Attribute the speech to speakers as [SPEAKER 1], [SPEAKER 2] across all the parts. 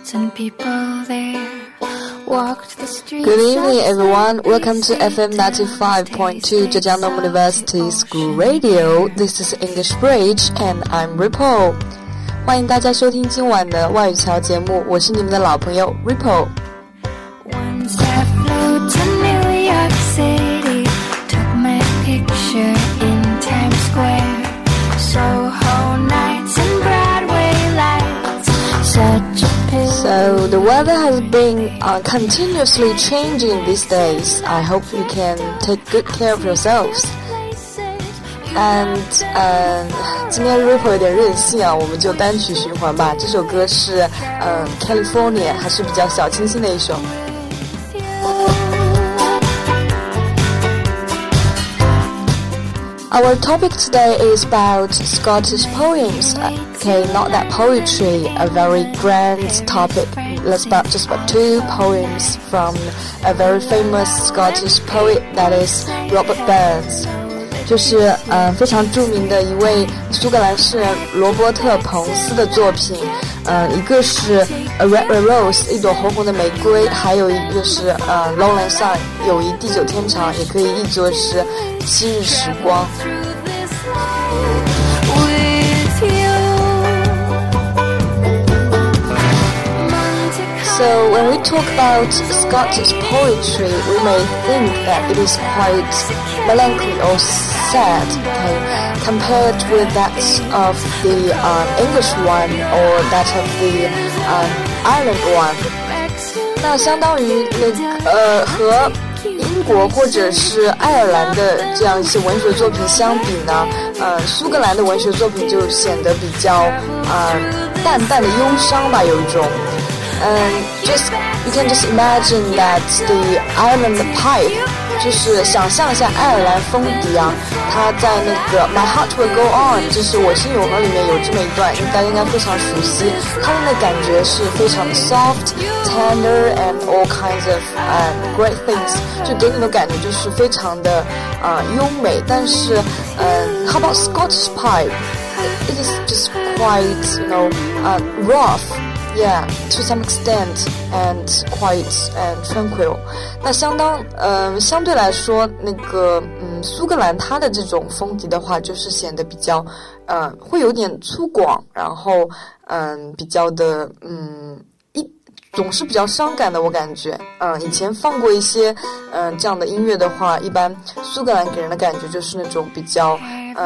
[SPEAKER 1] and people there walked the streets.
[SPEAKER 2] Good evening, everyone. Welcome to FM 95.2 Zhejiang Normal University School Radio. This is English Bridge, and I'm Ripple. 欢迎大家收听今晚的外语桥节目，我是你们的老朋友 Ripple。Once
[SPEAKER 1] I flew to New York City, took my picture in Times Square, Soho nights and Broadway lights, such a pity.
[SPEAKER 2] So the weather has been continuously changing these days. I hope you can take good care of yourselves.And 今天 Ripple 有点任性啊，我们就单曲循环吧。这首歌是California， 还是比较小清新的一首。Our topic today is about Scottish poems. Okay, not that poetry, a very grand topic. Let's about just about two poems from a very famous Scottish poet, that is Robert Burns.就是非常著名的一位苏格兰诗人罗伯特彭斯的作品，一个是 A Red Red Rose 一朵红红的玫瑰，还有一个是Lowland Sun 友谊地久天长，也可以译作是昔日时光。So when we talk about Scottish poetry, we may think that it is quite melancholy or sad, okay, compared with that of the English one or that of the Ireland one. 那相当于和英国或者是爱尔兰的这样一些文学作品相比呢，苏格兰的文学作品就显得比较淡淡的忧伤吧，有一种。You can just imagine that the Ireland pipe 就是想象一下爱尔兰风笛啊，它在那个 My Heart Will Go On 就是我心永恒里面有这么一段，大家应该非常熟悉，他们的感觉是非常的 soft, tender and all kinds of great things， 就给你的感觉就是非常的优美，但是how about Scottish pipe? It is just quite, rough.Yeah, to some extent and quite tranquil. 那相对来说，那个苏格兰它的这种风笛的话，就是显得比较会有点粗犷，然后比较的总是比较伤感的，我感觉。以前放过一些这样的音乐的话，一般苏格兰给人的感觉就是那种比较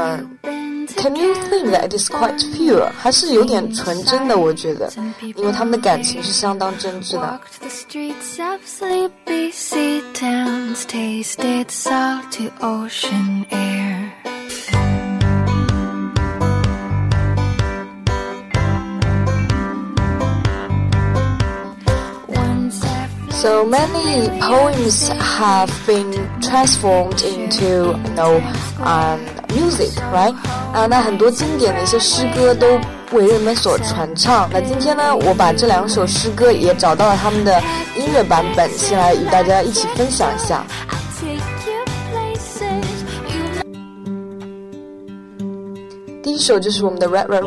[SPEAKER 2] Can you think that it is quite pure? 还是有点纯真的，我觉得，因为他们的感情是相当真挚的。So many poems have been transformed into, music, right? 那很多经典的一些诗歌都为人们所传唱。那今天呢，我把这两首诗歌也找到了他们的音乐版本，先来与大家一起分享一下。第一首就是我们的 Red Red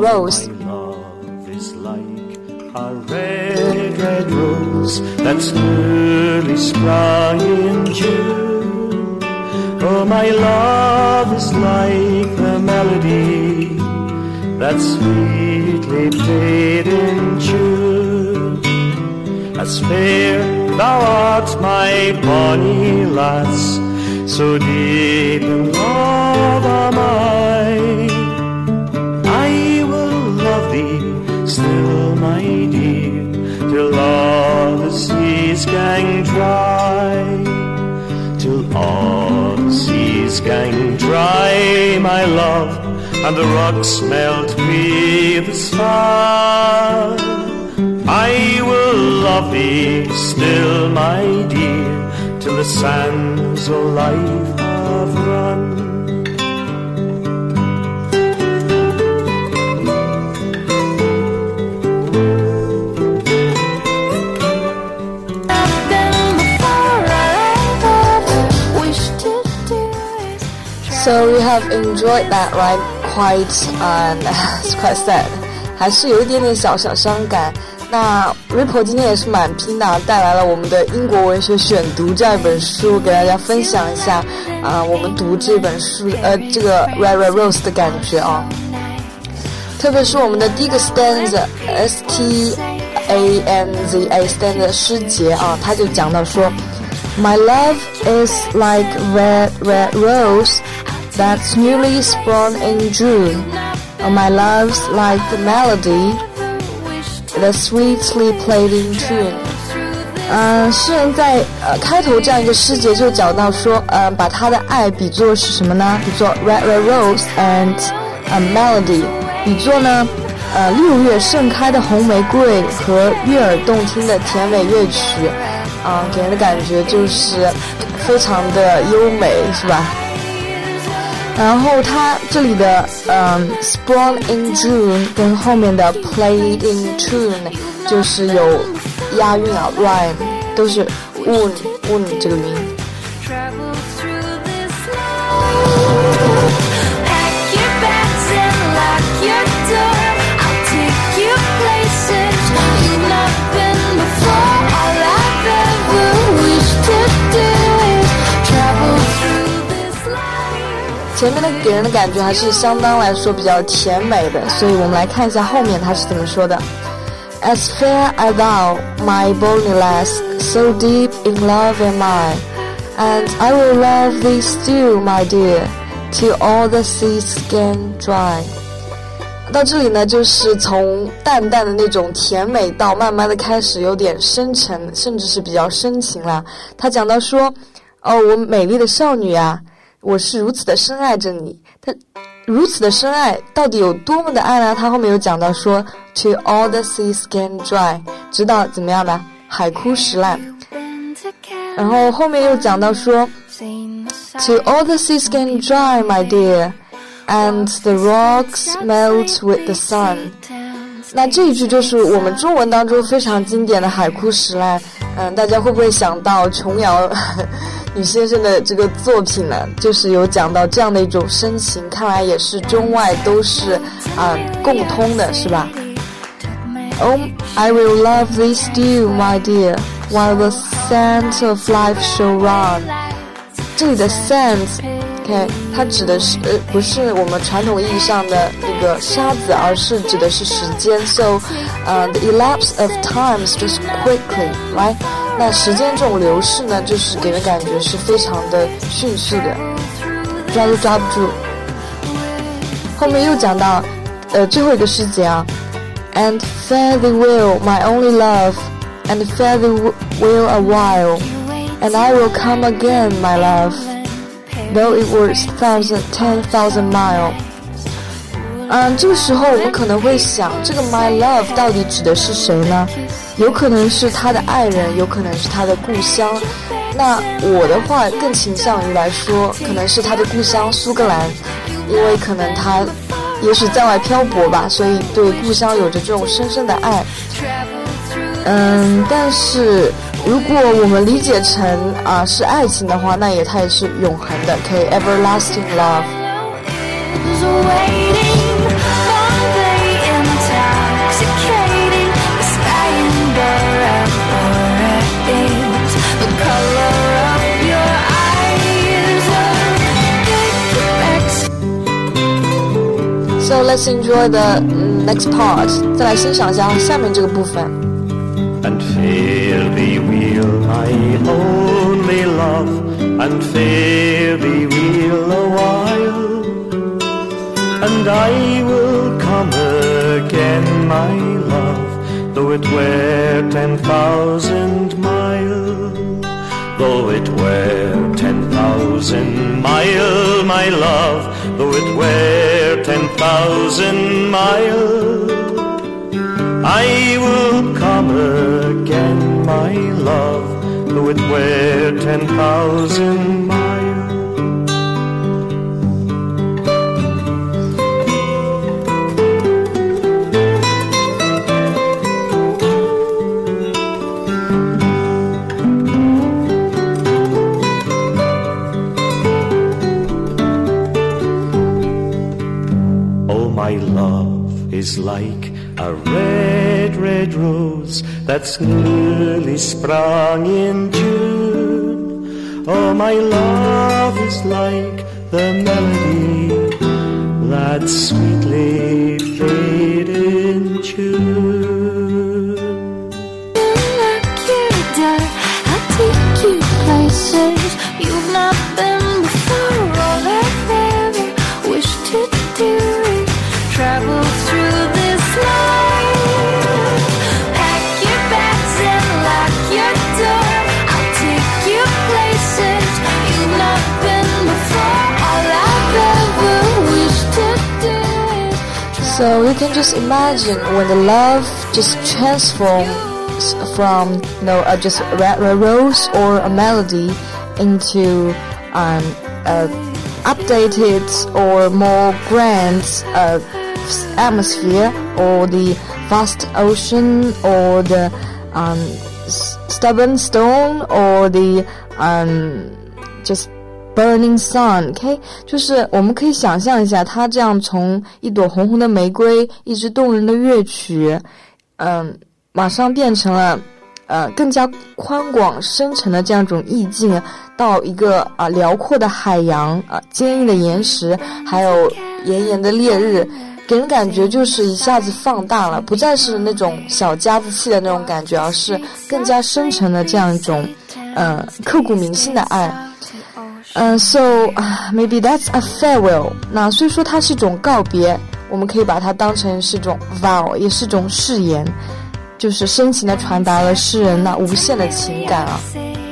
[SPEAKER 2] Rose。A red, red rose that's newly sprung in June. Oh, my love is like the melody that sweetly played in June. As fair thou art, my bonny lass, so deep in love am I will love thee still, my dear, till all the seas gang dry, till all the seas gang dry, my love, and the rocks melt with the sun. I will love thee still, my dear, till the sands of life have run.So you have enjoyed that, right? It's quite sad. 还是有一点点小伤感。 那 Ripple 今天也是蛮拼的，带来了我们的英国文学选读这本书，给大家分享一下我们读这本书这个 Red Red Rose 的感觉啊。特别是我们的第一个 stanza STANZA stanza 诗节啊，他就讲到说 My love is like red red rose that's newly sprung in June. My love's like the melody that's sweetly played in tune. 诗人在开头这样一个诗节就讲到说把他的爱比作是什么呢？比作 red red rose and a melody， 比作呢6月盛开的红玫瑰和悦耳动听的甜美乐曲给人的感觉就是非常的优美，是吧？然后它这里的sprung in June 跟后面的 played in tune 就是有押韵啊 rhyme 都是 un 这个音。前面的给人的感觉还是相当来说比较甜美的，所以我们来看一下后面他是怎么说的。As fair as thou, my bonny lass, so deep in love am I, and I will love thee still, my dear, till all the seas can dry. 到这里呢，就是从淡淡的那种甜美到慢慢的开始有点深沉，甚至是比较深情了。他讲到说，我美丽的少女啊，我是如此的深爱着你。他如此的深爱到底有多么的爱呢？他后面有讲到说 till all the seas can dry， 直到怎么样呢？海枯石烂。然后后面又讲到说 till all the seas can dry, my dear, and the rocks melt with the sun。 那这一句就是我们中文当中非常经典的海枯石烂。大家会不会想到琼瑶女先生的这个作品呢？就是有讲到这样的一种深情，看来也是中外都是共通的，是吧？ Oh, I will love thee still, my dear, while the sands of life shall run。 这里的 sands OK， 它指的是不是我们传统意义上的那个沙子，而是指的是时间。So, the elapse of time is just quickly, right？ 那时间这种流逝呢，就是给人感觉是非常的迅速的，抓都抓不住。后面又讲到最后一个诗节啊 ，And fare thee well, my only love, and fare thee well a while, and I will come again, my love.Though it was 10,000 miles。 这个时候我们可能会想，这个 my love 到底指的是谁呢？有可能是他的爱人，有可能是他的故乡。那我的话更倾向于来说，可能是他的故乡苏格兰，因为可能他也许在外漂泊吧，所以对故乡有着这种深深的爱。但是如果我们理解成是爱情的话，那它也是永恒的，可以 everlasting love。 So let's enjoy the next part。 再来欣赏一下下面这个部分。
[SPEAKER 3] And fare thee well, my only love, and fare thee well a while, and I will come again, my love, though it were 10,000 miles, though it were 10,000 miles, my love, though it were 10,000 miles.I will come again, my love, though it were 10,000 miles. Oh, my love is like a red red, red rose that's newly sprung in June. Oh, my love is like the melody that sweetly played in June.
[SPEAKER 1] Like you done, I'll take you places you've not been before. All I've ever wished to do is travel through this life. Pack your bags and lock your door. I'll take you places you've not been before. All I've ever wished to do is
[SPEAKER 2] So you can just imagine when the love just transforms from just a rose or a melody into updated or more grand atmosphere, or the vast ocean, or the stubborn stone, or the just burning sun. OK， 就是我们可以想象一下，它这样从一朵红红的玫瑰，一支动人的乐曲，马上变成了更加宽广深沉的这样一种意境，到一个辽阔的海洋，坚硬的岩石，还有炎炎的烈日，给人感觉就是一下子放大了，不再是那种小家子气的那种感觉，而是更加深沉的这样一种刻骨铭心的爱。So maybe that's a farewell. 那所以说它是一种告别，我们可以把它当成是一种 vow， 也是一种誓言，就是深情地传达了诗人那无限的情感啊。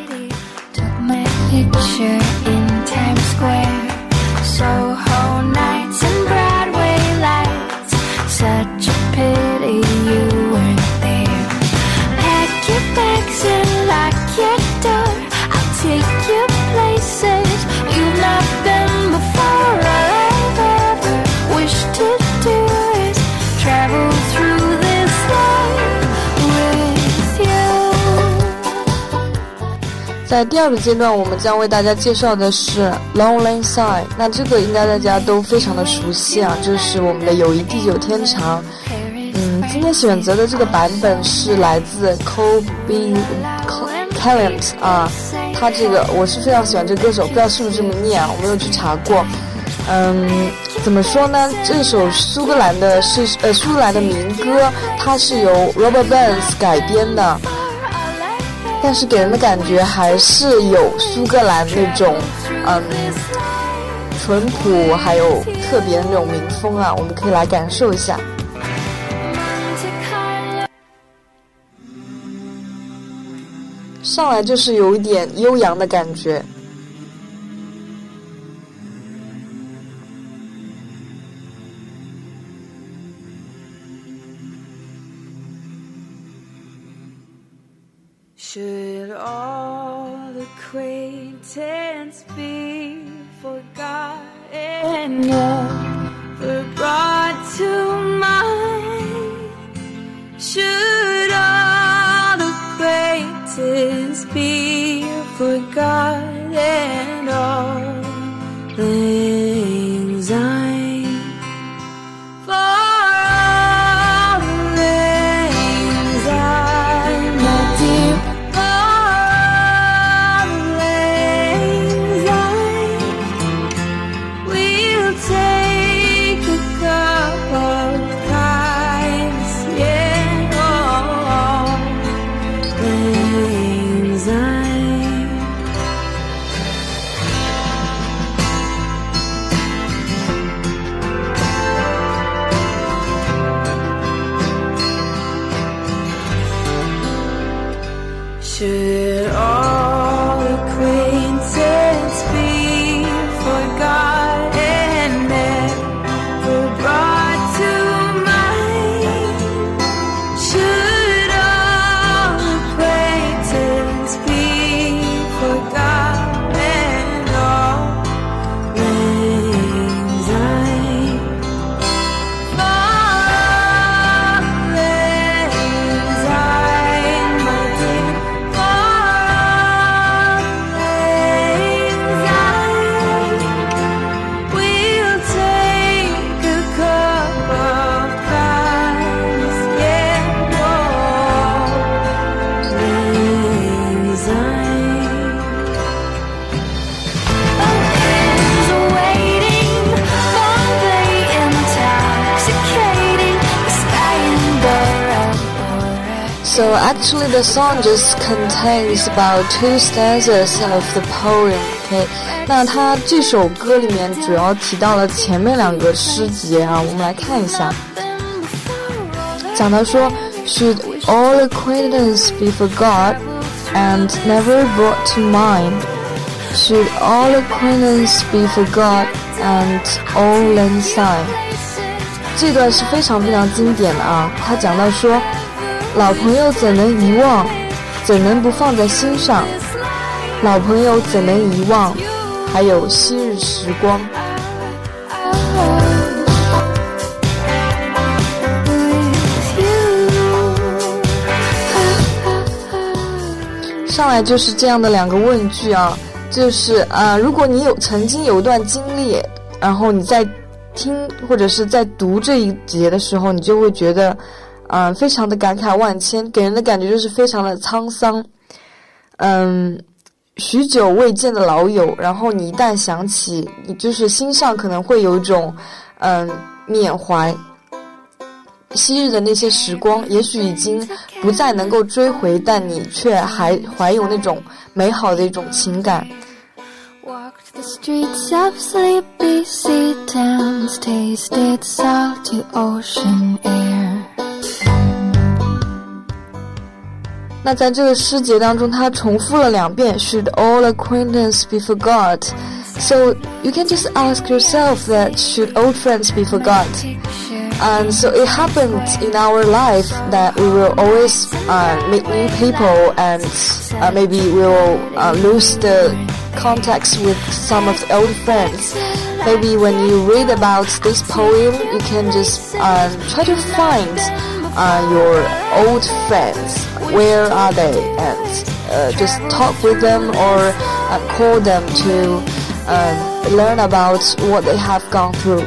[SPEAKER 2] 在第二个阶段，我们将为大家介绍的是 Long Lang Syne。那这个应该大家都非常的熟悉啊，这是我们的友谊地久天长。今天选择的这个版本是来自 Colby Callant 啊，他这个我是非常喜欢这个歌手，不知道是不是这么念啊，我没有去查过。怎么说呢？这首苏格兰的民歌，它是由 Robert Burns 改编的。但是给人的感觉还是有苏格兰那种淳朴还有特别的那种民风啊，我们可以来感受一下。上来就是有一点悠扬的感觉。
[SPEAKER 1] Should all acquaintance be forgotten, never brought to mind? Should all acquaintance be forgotten, all things I'm for?
[SPEAKER 2] So actually the song just contains about 2 stanzas of the poem. Okay, 那它这首歌里面主要提到了前面2个诗节啊，我们来看一下。讲到说 Should all acquaintance be forgot and never brought to mind? Should all acquaintance be forgot and all lang syne? 这段是非常非常经典的啊，他讲到说老朋友怎能遗忘，怎能不放在心上，老朋友怎能遗忘，还有昔日时光。上来就是这样的2个问句啊，就是如果你曾经有一段经历，然后你在听或者是在读这一节的时候，你就会觉得非常的感慨万千，给人的感觉就是非常的沧桑。许久未见的老友，然后你一旦想起，你就是心上可能会有一种缅怀昔日的那些时光，也许已经不再能够追回，但你却还怀有那种美好的一种情感。
[SPEAKER 1] Walked the streets of sleepy sea towns, tasted salty ocean air.
[SPEAKER 2] 那在这个诗节当中，它重复了2遍 Should all acquaintance be forgot? So you can just ask yourself that should old friends be forgot? And so it happened in our life that we will always meet new people, and maybe we will lose the contacts with some of the old friends. Maybe when you read about this poem, you can just try to find your old friends. Where are they? And just talk with them or call them to learn about what they have gone through.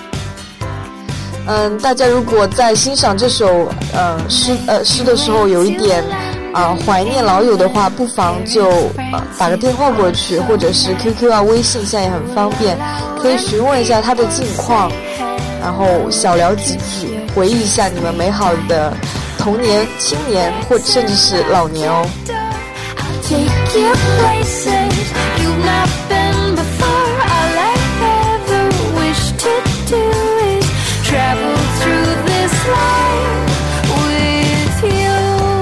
[SPEAKER 2] 大家如果在欣赏这首诗的时候有一点怀念老友的话，不妨就打个电话过去，或者是 QQ 啊、微信现在也很方便，可以询问一下他的近况，然后小聊几句，回忆一下你们美好的童年、青年或甚至是老年哦。
[SPEAKER 1] Take you places you've not been before. All I ever wish to do is travel through this life with you.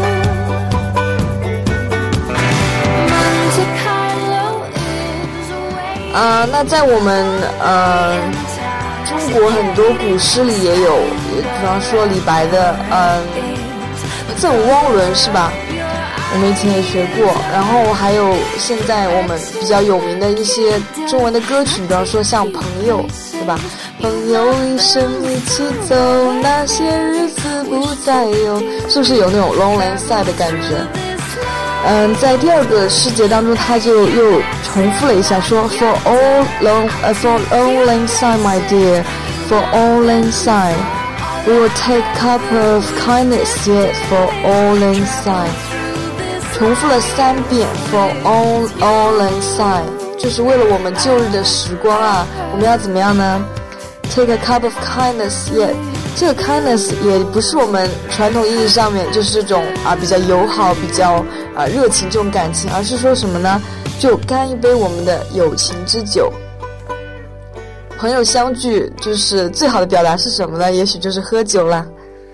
[SPEAKER 1] Monte Carlo is away.
[SPEAKER 2] 那在我们中国很多古诗里也有，比方说李白的赠汪伦是吧？我们以前也学过，然后还有现在我们比较有名的一些中文的歌曲，比方说像朋友，对吧？朋友一生一起走，那些日子不再有，是不是有那种 long lang syne 的感觉？在第2个诗节当中，他就又重复了一下，说 For all lang syne, my dear, for all lang syne, we will take cup of kindness yet for all lang syne。重复了3遍 For all lang syne， 就是为了我们旧日的时光啊，我们要怎么样呢？ Take a cup of kindness yet， 这个 kindness 也不是我们传统意义上面就是这种比较友好、比较热情这种感情，而是说什么呢？就干一杯我们的友情之酒。朋友相聚就是最好的表达是什么呢？也许就是喝酒啦。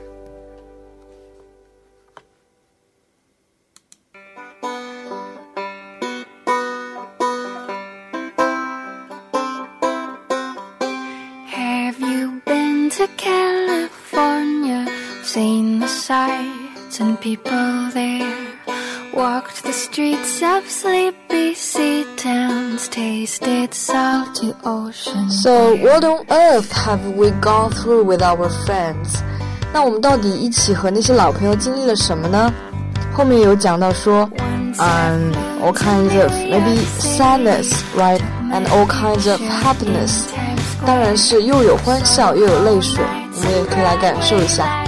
[SPEAKER 1] To California, seen the sights and people there, walked the streets of sleepy sea towns, tasted salty ocean.
[SPEAKER 2] So what on earth have we gone through with our friends? 那我们到底一起和那些老朋友经历了什么呢？后面有讲到说all kinds of maybe sadness, right? And all kinds of happiness. 当然是又有欢笑又有泪水，我们也可以来感受一下。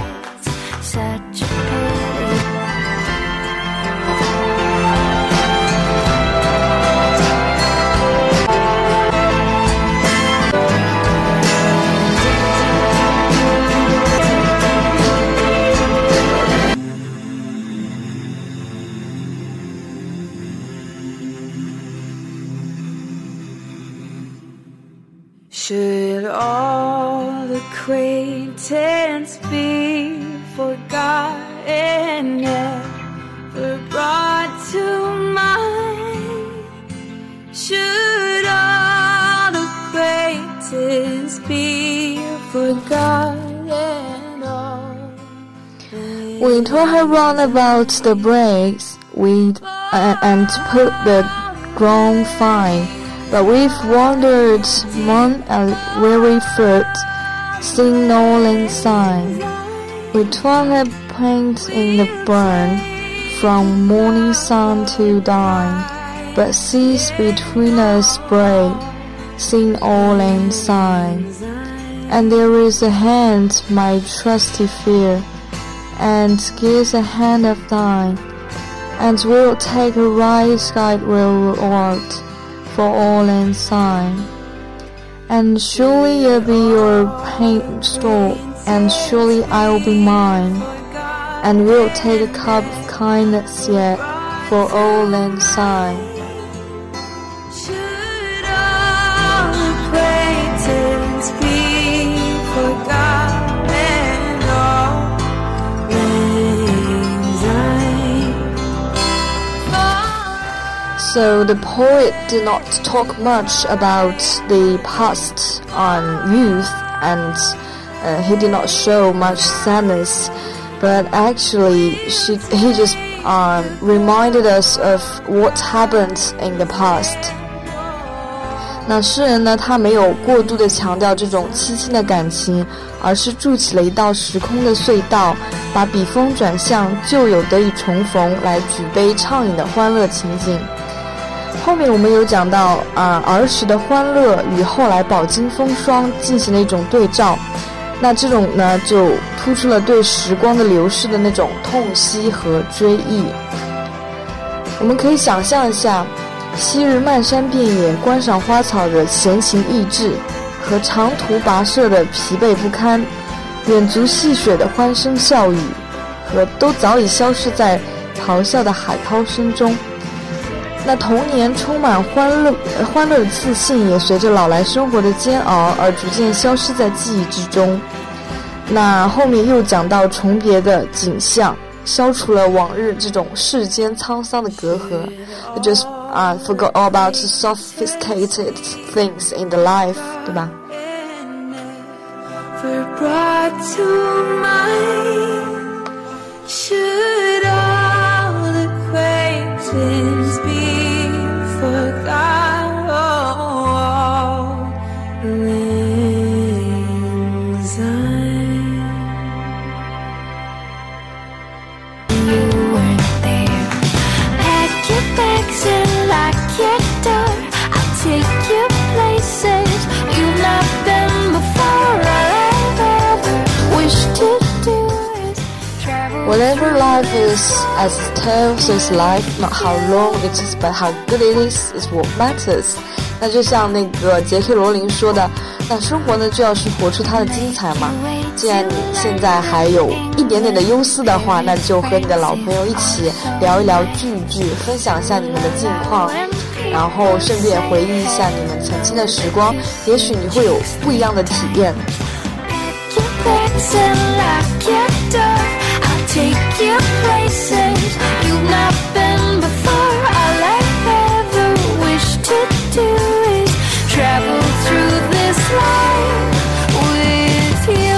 [SPEAKER 1] Should all acquaintance be forgotten, never brought to mind? Should all acquaintance be forgotten?
[SPEAKER 2] We told her round about the breaks and put the ground fine. But we've wandered on a weary foot, seeing no land sign. We told her paint in the burn, from morning sun to dawn, but seas between us break, seeing all land sign. And there is a hand, my trusty fear, and gives a hand of thine, and will take a right side reward for all and sign. And surely you'll be your paint store, and surely I'll be mine, and we'll take a cup of kindness yet for all and sign.
[SPEAKER 1] Should all acquaintance be forgotten, all
[SPEAKER 2] So the poet did not talk much about the past on youth, and he did not show much sadness, but actually he just reminded us of what happened in the past. 那诗人呢，他没有过度的强调这种凄清的感情，而是筑起了一道时空的隧道，把笔锋转向旧友得以重逢，来举杯畅饮的欢乐情景。后面我们有讲到儿时的欢乐与后来饱经风霜进行了一种对照，那这种呢就突出了对时光的流逝的那种痛惜和追忆。我们可以想象一下，昔日漫山遍野观赏花草的闲情逸致，和长途跋涉的疲惫不堪，远足戏水的欢声笑语，和都早已消失在咆哮的海涛声中。那童年充满欢乐的自信，也随着老来生活的煎熬而逐渐消失在记忆之中。那后面又讲到重别的景象，消除了往日这种世间沧桑的隔阂。Just forgot all about the sophisticated things in the life， 对吧
[SPEAKER 1] ？Should all acquaintance be forgot, all things You weren't there. Pack your bags and lock your door. I'll take you places you've not been before. All I've ever wished to do is travel.
[SPEAKER 2] Whatever life is, as it tells its life, not how long it is, but how good it is what matters. 那就像那个杰克罗琳说的，那生活呢就要去活出它的精彩嘛。既然你现在还有一点点的忧思的话，那就和你的老朋友一起聊一聊聚一聚，分享一下你们的近况，然后顺便回忆一下你们曾经的时光，也许你会有不一样的体验。
[SPEAKER 1] Take you places you've not been before. All I've ever wished to do is travel through this life with you.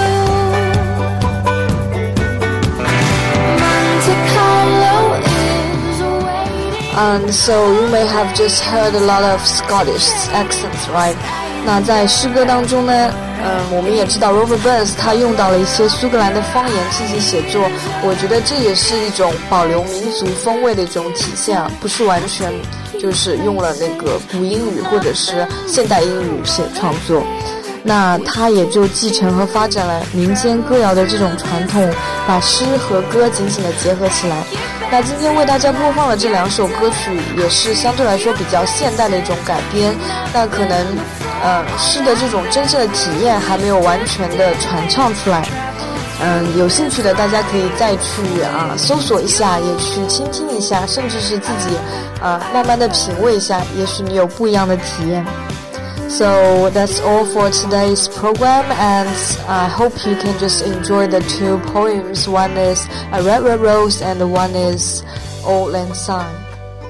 [SPEAKER 1] Monte Carlo is waiting.
[SPEAKER 2] And so you may have just heard a lot of Scottish accents, right? 那在诗歌当中呢，我们也知道 Robert Burns 他用到了一些苏格兰的方言进行写作，我觉得这也是一种保留民族风味的一种体现啊，不是完全就是用了那个古英语或者是现代英语写创作。那他也就继承和发展了民间歌谣的这种传统，把诗和歌紧紧地结合起来。那今天为大家播放的这两首歌曲也是相对来说比较现代的一种改编，那可能诗的这种真正的体验还没有完全的传唱出来。有兴趣的大家可以再去搜索一下，也去倾听一下，甚至是自己慢慢的品味一下，也许你有不一样的体验。 So that's all for today's program, and I hope you can just enjoy the two poems. One is A Red Red Rose and the one is Auld Lang Syne.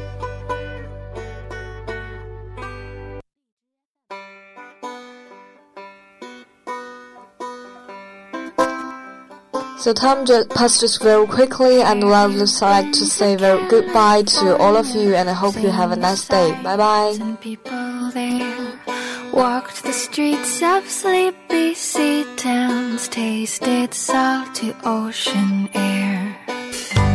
[SPEAKER 2] So time just passes very quickly, and I would just like to say very goodbye to all of you, and I hope you have a nice day. Bye bye.
[SPEAKER 1] And people there walked the streets of sleepy sea towns, tasted salty ocean air.